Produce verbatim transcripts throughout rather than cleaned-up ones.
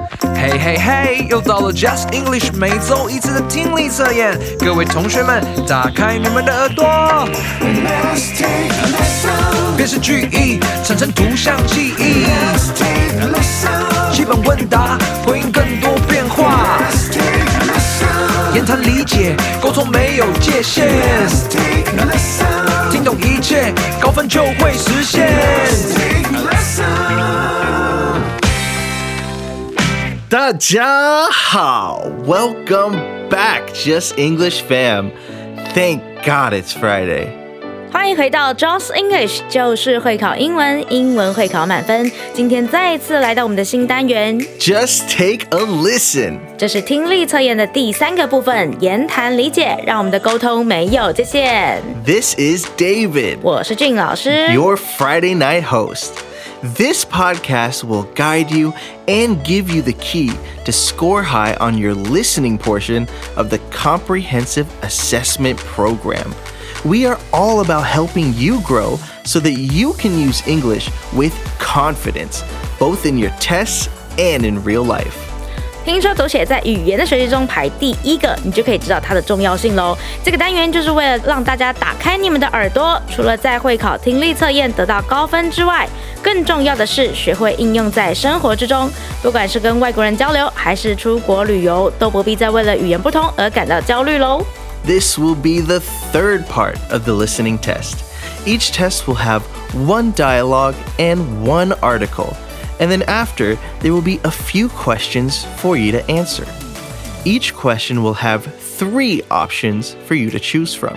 嘿嘿嘿，又到了 Just English 每周一次的听力测验，各位同学们，打开你们的耳朵。辨识句意，产生图像记忆。基本问答，回应更多变化。言谈理解，沟通没有界限。听懂一切，高分就会实现。 大家好 Welcome back, Just English fam. Thank God it's Friday. 欢迎回到 Just English， 就是会考英文，英文会考满分。今天再次来到我们的新单元 Just take a listen. 这是听力测验的第三个部分，言谈理解，让我们的沟通没有界限。 This is David. 我是俊老师 Your Friday night host.This podcast will guide you and give you the key to score high on your listening portion of the Comprehensive Assessment Program. We are all about helping you grow so that you can use English with confidence, both in your tests and in real life. 听说读写在语言的学习中排第一个，你就可以知道它的重要性咯。这个单元就是为了让大家打开你们的耳朵，除了在会考听力测验得到高分之外，更重要的是学会应用在生活之中。不管是跟外国人交流，还是出国旅游，都不必再为了语言不通而感到焦虑咯。 This will be the third part of the listening test. Each test will have one dialogue and one article.And then after, there will be a few questions for you to answer. Each question will have three options for you to choose from.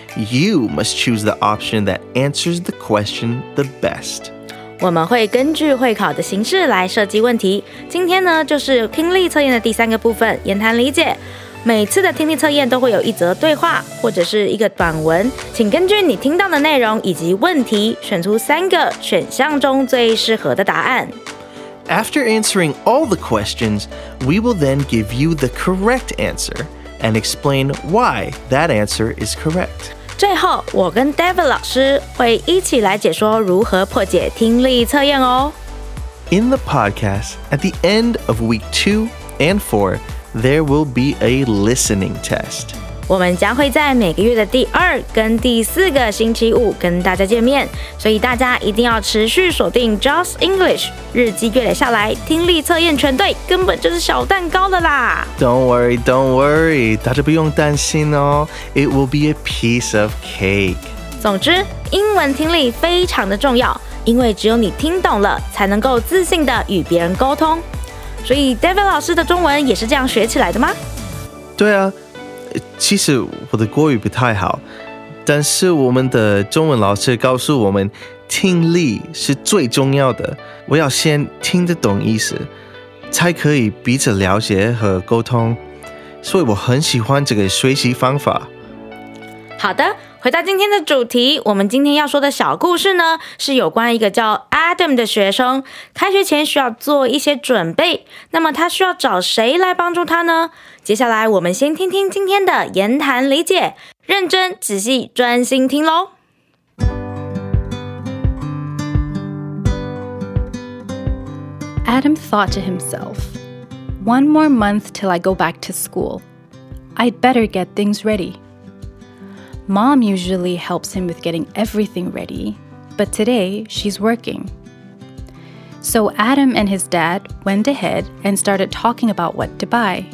You must choose the option that answers the question the best. 我们会根据会考的形式来设计问题。今天呢，就是听力测验的第三个部分，言谈理解。每次的听力测验都会有一则对话或者是一个短文，请根据你听到的内容以及问题，选出三个选项中最适合的答案。 After answering all the questions, we will then give you the correct answer and explain why that answer is correct. 最后，我跟 David 老师会一起来解说如何破解听力测验哦。 In the podcast, at the end of week two and four, there will be a listening test. 我们将会在每个月的第二跟第四个星期五跟大家见面，所以大家一定要持续锁定 Just English， 日积月累下来，听力测验全对根本就是小蛋糕了啦。 Don't worry, don't worry， 大家不用担心哦。It will be a piece of cake. 总之，英文听力非常的重要，因为只有你听懂了，才能够自信的与别人沟通。所以 David 老师的中文也是这样学起来的吗？ 对啊。其实我的国语不太好，但是我们的中文老师告诉我们，听力是最重要的。我要先听得懂意思，才可以彼此了解和沟通。所以我很喜欢这个学习方法。 好的，回到今天的主题，我们今天要说的小故事呢，是有关一个叫 Adam 的学生，开学前需要做一些准备，那么他需要找谁来帮助他呢？接下来我们先听听今天的言谈理解，认真、仔细、专心听咯。 Adam thought to himself, "One more month till I go back to school. I'd better get things ready." Mom usually helps him with getting everything ready, but today she's working. So Adam and his dad went ahead and started talking about what to buy.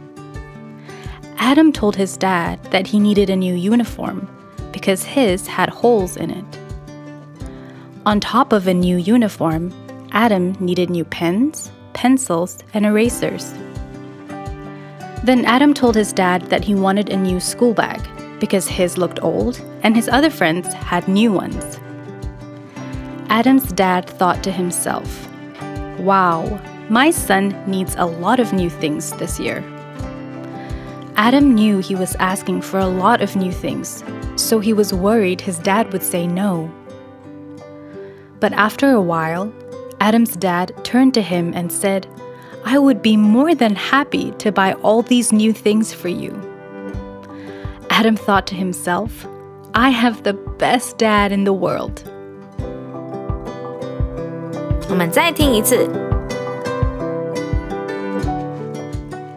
Adam told his dad that he needed a new uniform because his had holes in it. On top of a new uniform, Adam needed new pens, pencils, and erasers. Then Adam told his dad that he wanted a new school bag because his looked old and his other friends had new ones. Adam's dad thought to himself, "Wow, my son needs a lot of new things this year." Adam knew he was asking for a lot of new things, so he was worried his dad would say no. But after a while, Adam's dad turned to him and said, "I would be more than happy to buy all these new things for you." Adam thought to himself, "I have the best dad in the world." 我们再听一次。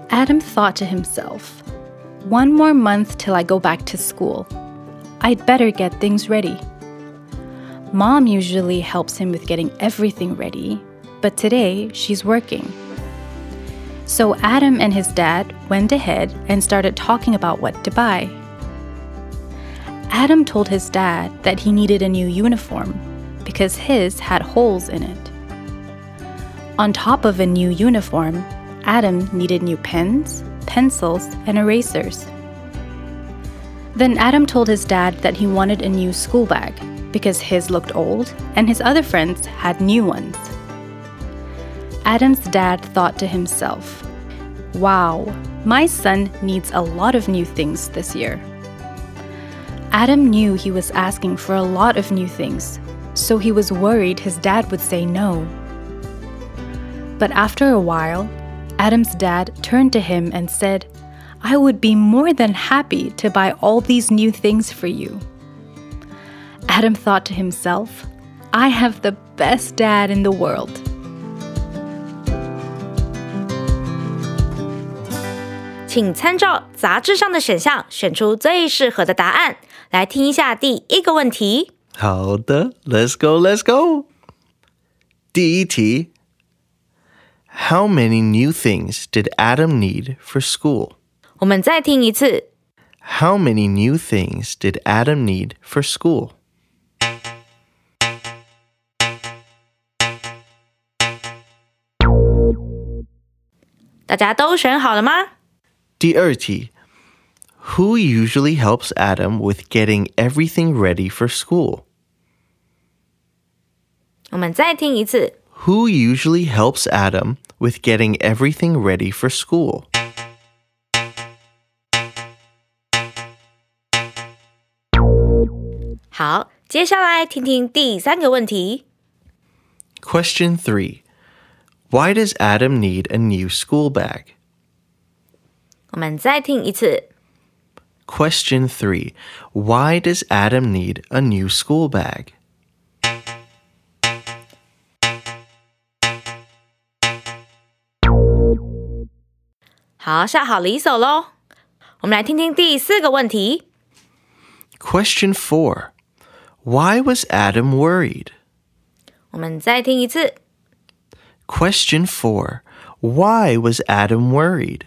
Adam thought to himself, one more month till I go back to school. I'd better get things ready. Mom usually helps him with getting everything ready, but today she's working. So Adam and his dad went ahead and started talking about what to buy. Adam told his dad that he needed a new uniform because his had holes in it. On top of a new uniform, Adam needed new pens, pencils, and erasers. Then Adam told his dad that he wanted a new school bag because his looked old and his other friends had new ones. Adam's dad thought to himself, wow, my son needs a lot of new things this year. Adam knew he was asking for a lot of new things, so he was worried his dad would say no. But after a while, Adam's dad turned to him and said, I would be more than happy to buy all these new things for you. Adam thought to himself, I have the best dad in the world. 请参照杂志上的选项选出最适合的答案。来听一下第一个问题。 好的 let's go, let's go. 第一题 How many new things did Adam need for school? 我们再听一次。 How many new things did Adam need for school? 大家都选好了吗？ 第二题 Who usually helps Adam with getting everything ready for school? 我们再听一次。 Who usually helps Adam with getting everything ready for school? 好，接下来听听第三个问题。 Question three. Why does Adam need a new school bag? 我们再听一次。 Question three. Why does Adam need a new school bag? 好，下好离手咯。我们来听听第四个问题。 Question four. Why was Adam worried? 我们再听一次。 Question four. Why was Adam worried?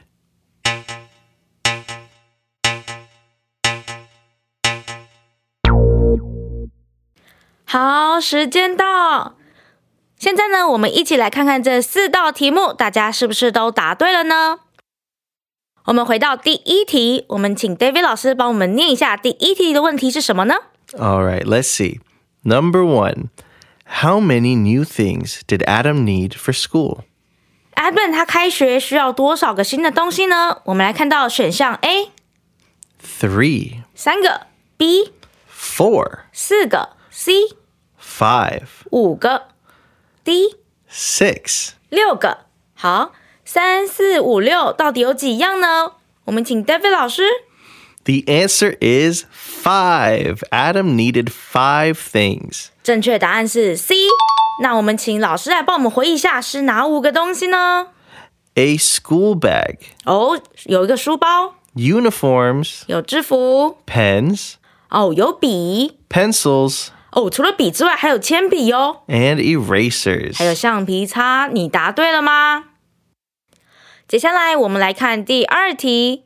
好，时间到。现在呢，我们一起来看看这四道题目，大家是不是都答对了呢？我们回到第一题，我们请 David 老师帮我们念一下第一题的问题是什么呢？ All right, let's see. Number one. How many new things did Adam need for school? Adam 他开学需要多少个新的东西呢？我们来看到选项 A Three. 三个 B Four. 四个 C Five. 五个 D Six. 六个。好，三四五六到底有几样呢？我们请 David 老师。 The answer is five. Adam needed five things. 正确答案是 C。那我们请老师来帮我们回忆一下是哪五个东西呢？ A school bag. 哦，有一个书包， Uniforms. 有制服， Pens. 哦，有笔， Pencils. 哦，除了笔之外还有铅笔哦， And erasers. 还有橡皮擦。你答对了吗？接下来我们来看第二题。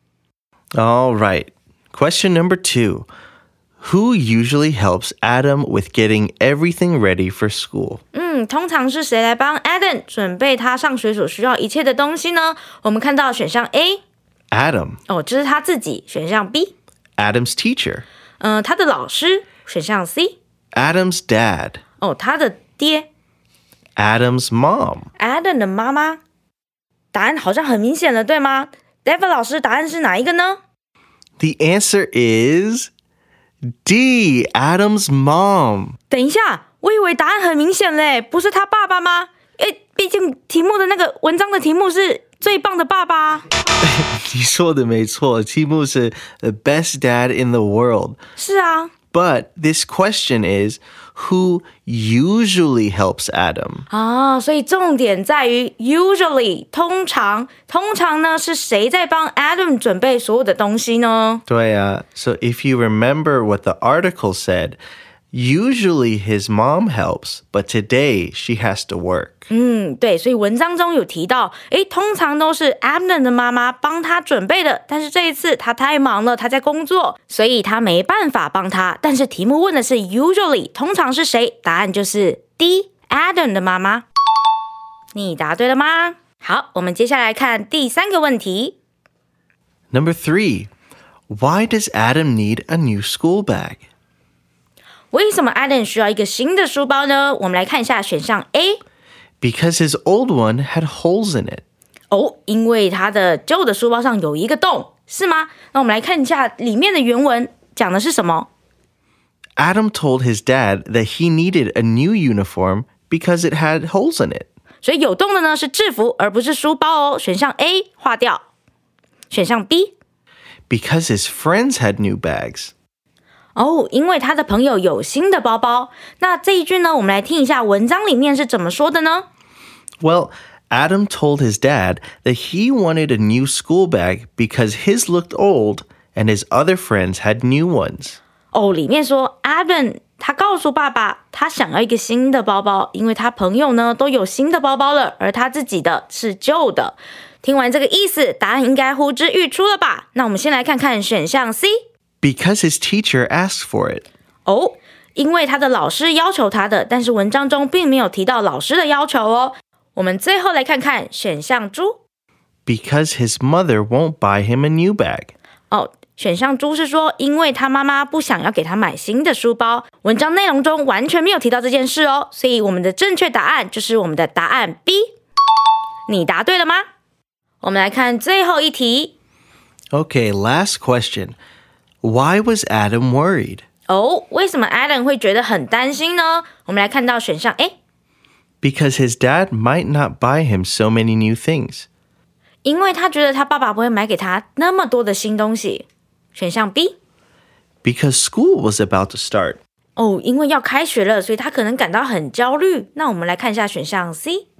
All right. Question number two. Who usually helps Adam with getting everything ready for school? 嗯，通常是谁来帮 Adam 准备他上学所需要一切的东西呢？我们看到选项 A， Adam. 哦，这是他自己。选项 B， Adam's teacher. 嗯、呃，他的老师。选项 C， Adam's dad. 哦，他的爹。 Adam's mom. Adam 的妈妈。答案好像很明显了，对吗？ David 老师，答案是哪一个呢？ The answer is D. Adam's mom. 等一下，我以为答案很明显嘞，不是他爸爸吗？诶，毕竟题目的那个文章的题目是最棒的爸爸。 你说的没错，题目是 The best dad in the world. 是啊。 But this question is, who usually helps Adam? 啊，所以重点在于 usually 通常通常呢是谁在帮 Adam 准备所有的东西呢？ 对啊, so if you remember what the article said, usually his mom helps, but today she has to work. 嗯，对，所以文章中有提到，诶，通常都是 Adam 的妈妈帮他准备的，但是这一次他太忙了，他在工作，所以他没办法帮他。但是题目问的是 usually 通常是谁？答案就是 D Adam 的妈妈。你答对了吗？好，我们接下来看第三个问题。 Number three, why does Adam need a new school bag? 为什么 Adam 需要一个新的书包呢？我们来看一下选项 A。Because his old one had holes in it. 哦，因为他的旧的书包上有一个洞，是吗？那我们来看一下里面的原文讲的是什么。 Adam told his dad that he needed a new uniform because it had holes in it. 所以有洞的呢是制服，而不是书包哦。选项 A 划掉。选项 B。Because his friends had new bags. 哦，因为他的朋友有新的包包。那这一句呢，我们来听一下文章里面是怎么说的呢？ Well, Adam told his dad that he wanted a new school bag because his looked old and his other friends had new ones. 哦，里面说 Adam 他告诉爸爸，他想要一个新的包包，因为他朋友呢都有新的包包了，而他自己的是旧的。听完这个意思，答案应该呼之欲出了吧？那我们先来看看选项 C。Because his teacher asked for it. 哦，因为他的老师要求他的，但是文章中并没有提到老师的要求哦。我们最后来看看选项猪。 Because his mother won't buy him a new bag. 哦，选项猪是说，因为他妈妈不想要给他买新的书包。文章内容中完全没有提到这件事哦，所以我们的正确答案就是我们的答案 B。你答对了吗？我们来看最后一题。 Okay, last question.Why was Adam worried? 哦，为什么 Adam 会觉得很担心呢？我们来看到选项 A。Because his dad might not buy him so many new things. 因为他觉得他爸爸不会买给他那么多的新东西。选项 B。Because school was about to start. 哦，因为要开学了，所以他可能感到很焦虑。那我们来看一下选项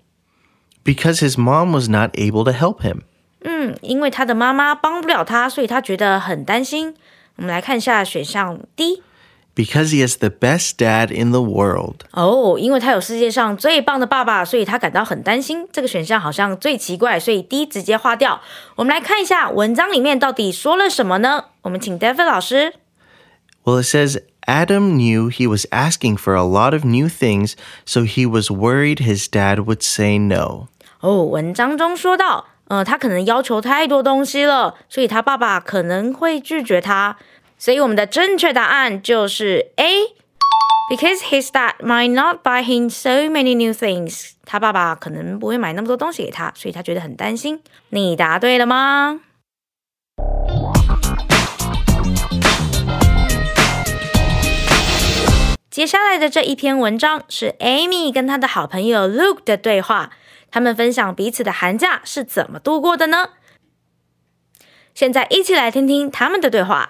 C。Because his mom was not able to help him. 嗯，因为他的妈妈帮不了他，所以他觉得很担心。我们来看一下选项 D。Because he is the best dad in the world. 哦，因为他有世界上最棒的爸爸，所以他感到很担心。这个选项好像最奇怪，所以 D 直接划掉。我们来看一下文章里面到底说了什么呢？我们请 David 老师。 Well, it says Adam knew he was asking for a lot of new things, so he was worried his dad would say no. 哦，文章中说到，呃，他可能要求太多东西了，所以他爸爸可能会拒绝他。所以我们的正确答案就是 A。Because his dad might not buy him so many new things. 他爸爸可能不会买那么多东西给他，所以他觉得很担心。你答对了吗？接下来的这一篇文章是 Amy 跟她的好朋友 Luke 的对话，他们分享彼此的寒假是怎么度过的呢？现在一起来听听他们的对话。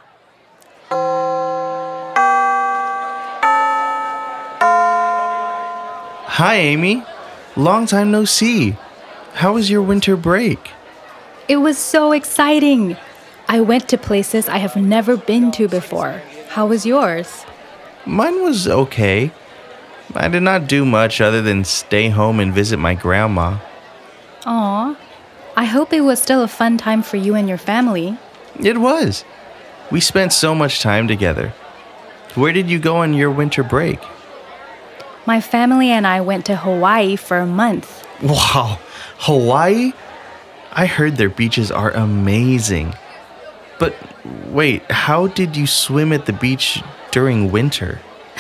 Hi, Amy. Long time no see. How was your winter break? It was so exciting. I went to places I have never been to before. How was yours? Mine was okay. I did not do much other than stay home and visit my grandma. Aw, I hope it was still a fun time for you and your family. It was. We spent so much time together. Where did you go on your winter break? My family and I went to Hawaii for a month. Wow, Hawaii? I heard their beaches are amazing. But wait, how did you swim at the beach during winter?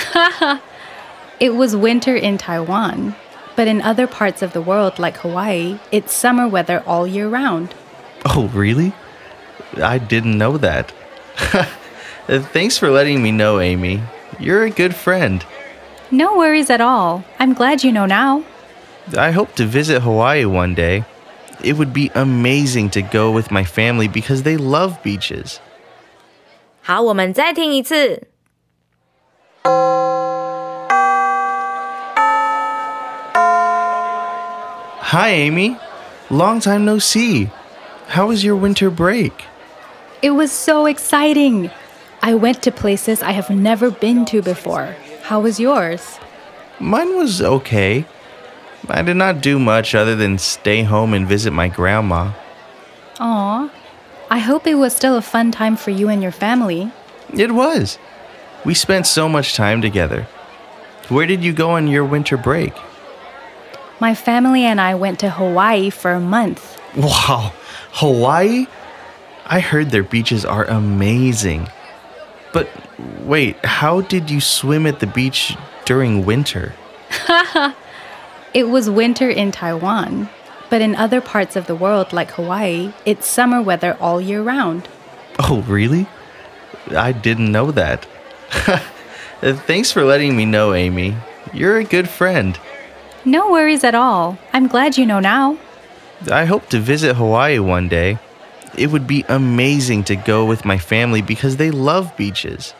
It was winter in Taiwan, but in other parts of the world like Hawaii, it's summer weather all year round. Oh, really? I didn't know that. Thanks for letting me know, Amy. You're a good friend. No worries at all. I'm glad you know now. I hope to visit Hawaii one day. It would be amazing to go with my family because they love beaches. 好，我们再听一次。 Hi, Amy. Long time no see. How was your winter break? It was so exciting. I went to places I have never been to before. How was yours? Mine was okay. I did not do much other than stay home and visit my grandma. Aw, I hope it was still a fun time for you and your family. It was. We spent so much time together. Where did you go on your winter break? My family and I went to Hawaii for a month. Wow, Hawaii? I heard their beaches are amazing. But wait, how did you swim at the beach during winter? It was winter in Taiwan, but in other parts of the world like Hawaii, it's summer weather all year round. Oh, really? I didn't know that. Thanks for letting me know, Amy. You're a good friend. No worries at all. I'm glad you know now. I hope to visit Hawaii one day. It would be amazing to go with my family because they love beaches.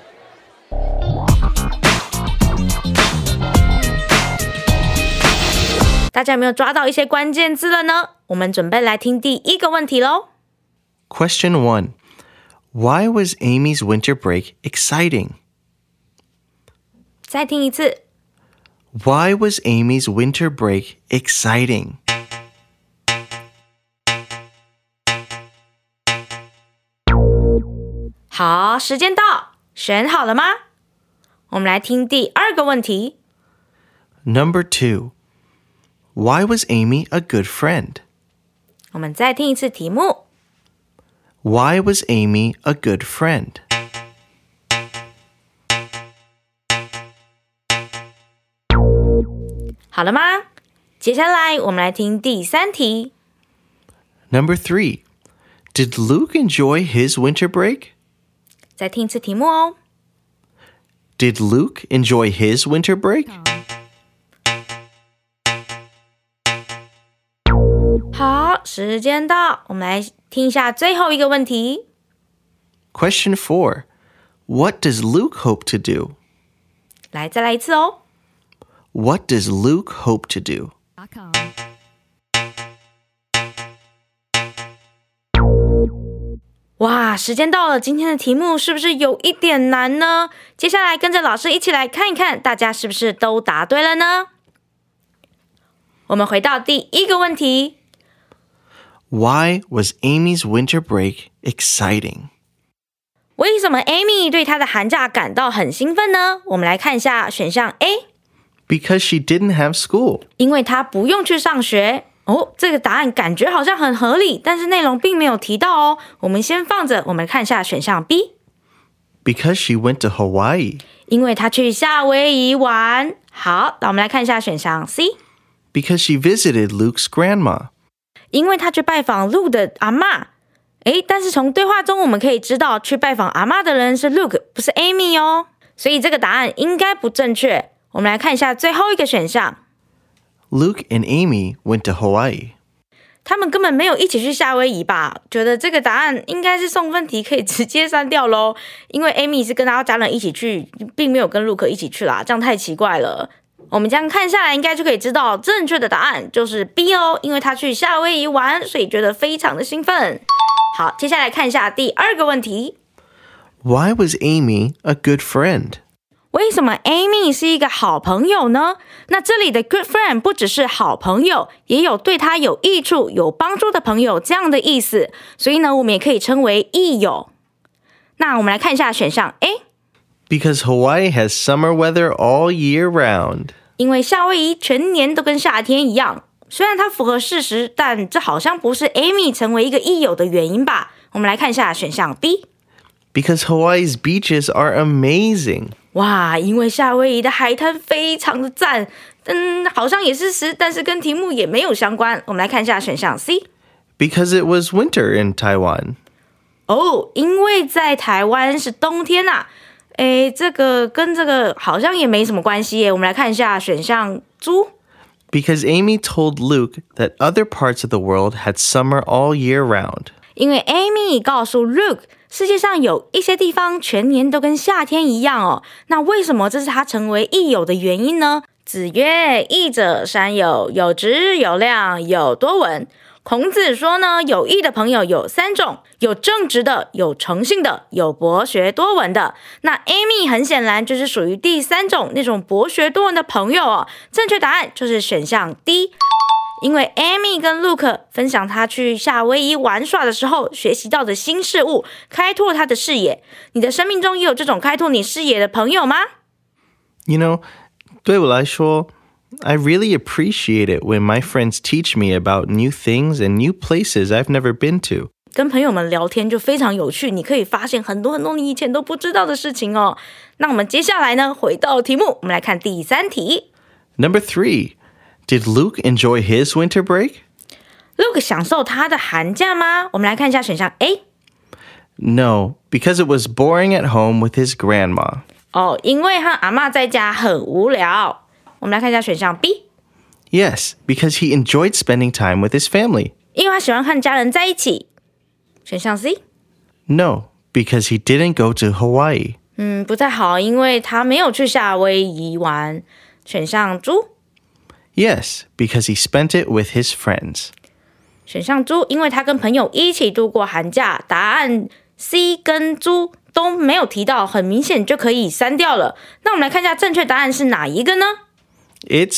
大家有没有抓到一些关键字了呢？我们准备来听第一个问题咯。 Question one. Why was Amy's winter break exciting? 再听一次。 Why was Amy's winter break exciting? 好，时间到，选好了吗？我们来听第二个问题。 Number two. Why was Amy a good friend? 我们再听一次题目。 Why was Amy a good friend? 好了吗？接下来我们来听第三题。 Number three. Did Luke enjoy his winter break? 再听一次题目哦。 Did Luke enjoy his winter break? 好，时间到，我们来听一下最后一个问题。 Question four. What does Luke hope to do? 来，再来一次哦。 What does Luke hope to do? 哇，时间到了，今天的题目是不是有一点难呢？接下来跟着老师一起来看一看，大家是不是都答对了呢？我们回到第一个问题。 Why was Amy's winter break exciting? 为什么 Amy 对她的寒假感到很兴奋呢？我们来看一下选项 A。 Because she didn't have school. 因为她不用去上学。哦，这个答案感觉好像很合理，但是内容并没有提到哦。我们先放着，我们看一下选项 B。 Because she went to Hawaii. 因为她去夏威夷玩。好，那我们来看一下选项 C。 Because she visited Luke's grandma. 因为她去拜访 Luke 的阿嬷。诶，但是从对话中我们可以知道，去拜访阿嬷的人是 Luke， 不是 Amy 哦。所以这个答案应该不正确。我们来看一下最后一个选项。 Luke and Amy went to Hawaii. 他们根本没有一起去夏威夷吧？觉得这个答案应该是送分题，可以直接删掉咯。因为 Amy 是跟她家人一起去，并没有跟 Luke 一起去啦，这样太奇怪了。我们这样看下来，应该就可以知道正确的答案就是 B 哦，因为她去夏威夷玩，所以觉得非常的兴奋。好，接下来看一下第二个问题。 Why was Amy a good friend? 为什么 Amy 是一个好朋友呢？那这里的 good friend 不只是好朋友，也有对她有益处、有帮助的朋友这样的意思，所以呢，我们也可以称为益友。那我们来看一下选项 A。 Because Hawaii has summer weather all year round. 因为夏威夷全年都跟夏天一样，虽然它符合事实，但这好像不是 Amy 成为一个益友的原因吧？我们来看一下选项 B。 Because Hawaii's beaches are amazing. 哇，因为夏威夷的海滩非常的赞，嗯，好像也是实，但是跟题目也没有相关。我们来看一下选项 C。 Because it was winter in Taiwan. 哦，因为在台湾是冬天啊。诶，这个跟这个好像也没什么关系耶。我们来看一下选项猪。 Because Amy told Luke that other parts of the world had summer all year round. 因为 Amy 告诉 Luke， 世界上有一些地方全年都跟夏天一样哦。那为什么这是他成为益友的原因呢？子曰：益者善友，有直有量，有多闻。孔子说呢，有益的朋友有三种，有正直的，有诚信的，有博学多闻的。那 Amy 很显然就是属于第三种那种博学多闻的朋友哦。正确答案就是选项 D， 因为 Amy 跟 Luke 分享他去夏威夷玩耍的时候学习到的新事物，开拓他的视野。你的生命中也有这种开拓你视野的朋友吗？ You know, 对我来说I really appreciate it when my friends teach me about new things and new places I've never been to. 跟朋友们聊天就非常有趣，你可以发现很多很多你以前都不知道的事情哦。那我们接下来呢，回到题目，我们来看第三题。 Number three, did Luke enjoy his winter break? Luke 享受他的寒假吗？我们来看一下选项 A。 No, because it was boring at home with his grandma. 哦，因为和阿嬷在家很无聊。我们来看一下选项 B。 Yes, because he enjoyed spending time with his family. 因为他喜欢和家人在一起。选项 C。 No, because he didn't go to Hawaii. 嗯，不太好，因为他没有去夏威夷玩。选项猪。 Yes, because he spent it with his friends. 选项猪，因为他跟朋友一起度过寒假。答案 C 跟猪都没有提到，很明显就可以删掉了。那我们来看一下正确答案是哪一个呢？ It's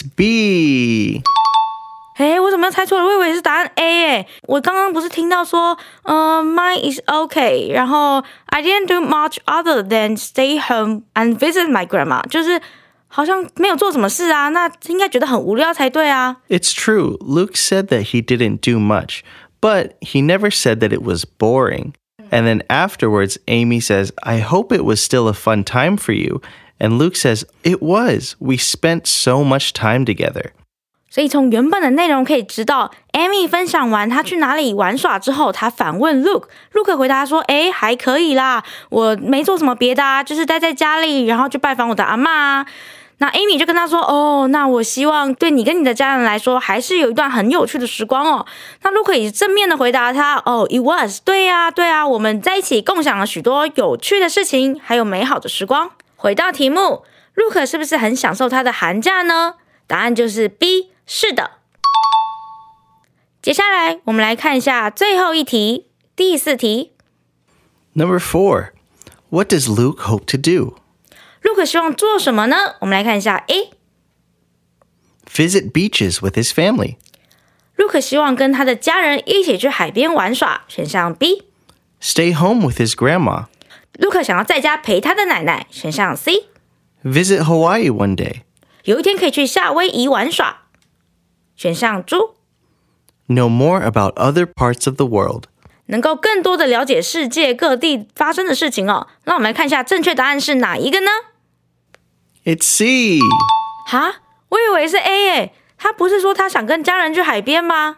B. 诶，我怎么又猜错了？我以为是答案 A 诶。我刚刚不是听到说呃 mine is okay， 然后 I didn't do much other than stay home and visit my grandma， 就是好像没有做什么事啊，那应该觉得很无聊才对啊。 It's true. Luke said that he didn't do much, but he never said that it was boring. And then afterwards, Amy says, I hope it was still a fun time for you. And Luke says, it was. We spent so much time together. 所以从原本的内容可以知道 Amy 分享完她去哪里玩耍之后，她反问 Luke， Luke 回答说，诶，还可以啦，我没做什么别的啊，就是待在家里，然后去拜访我的阿嬷啊。那 Amy 就跟他说，哦，那我希望对你跟你的家人来说还是有一段很有趣的时光哦。那 Luke 也正面的回答他，哦 it was， 对啊对啊，我们在一起共享了许多有趣的事情，还有美好的时光。回到题目， Luke 是不是很享受他的寒假呢？答案就是 B， 是的。接下来我们来看一下最后一题，第四题。 Number four, what does Luke hope to do? Luke 希望做什么呢？我们来看一下 A。 Visit beaches with his family. Luke 希望跟他的家人一起去海边玩耍。选项 B。 Stay home with his grandma. Luke 想要在家陪他的奶奶。选项 C。 Visit Hawaii one day. 有一天可以去夏威夷玩耍。选项猪。 Know more about other parts of the world. 能够更多的了解世界各地发生的事情哦。那我们来看一下正确答案是哪一个呢？ It's C. 哈，我以为是 A 耶，他不是说他想跟家人去海边吗？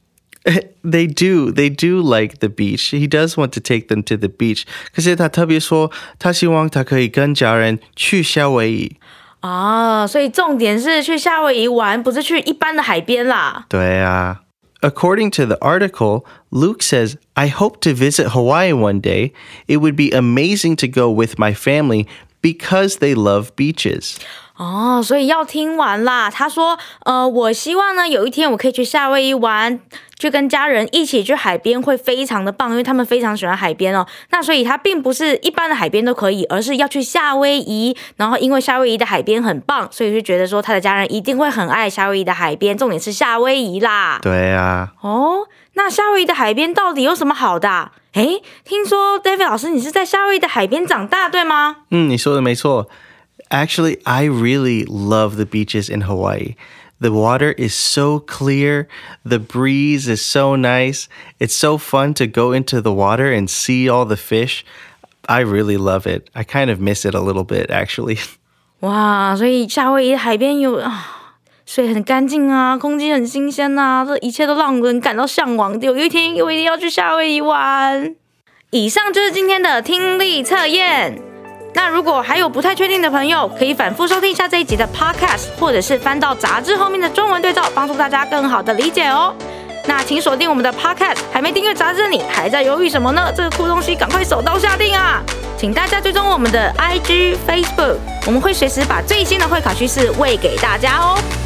They do. They do like the beach. He does want to take them to the beach. 可是他特别说，他希望他可以跟家人去夏威夷。 啊，所以重点是去夏威夷玩，不是去一般的海边啦。 对啊。According to the article, Luke says, I hope to visit Hawaii one day. It would be amazing to go with my family because they love beaches. 哦，所以要听完啦。他说，呃，我希望呢，有一天我可以去夏威夷玩，去跟家人一起去海边，会非常的棒，因为他们非常喜欢海边哦。那所以他并不是一般的海边都可以，而是要去夏威夷。然后因为夏威夷的海边很棒，所以就觉得说他的家人一定会很爱夏威夷的海边。重点是夏威夷啦。 对啊。 哦，那夏威夷的海边到底有什么好的啊？诶，听说 David 老师你是在夏威夷的海边长大，对吗？ 嗯，你说的没错。Actually, I really love the beaches in Hawaii. The water is so clear. The breeze is so nice. It's so fun to go into the water and see all the fish. I really love it. I kind of miss it a little bit, actually. 哇，所以夏威夷海边有啊，水很干净啊，空气很新鲜啊，这一切都让人感到向往。有一天我一定要去夏威夷玩。以上就是今天的听力测验。那如果还有不太确定的朋友，可以反复收听一下这一集的 podcast， 或者是翻到杂志后面的中文对照，帮助大家更好的理解哦。 那请锁定我们的 Podcast， 还没订阅杂志的你还在犹豫什么呢？这个酷东西赶快手刀下定啊！请大家追踪我们的 I G、Facebook， 我们会随时把最新的会考趋势喂给大家哦。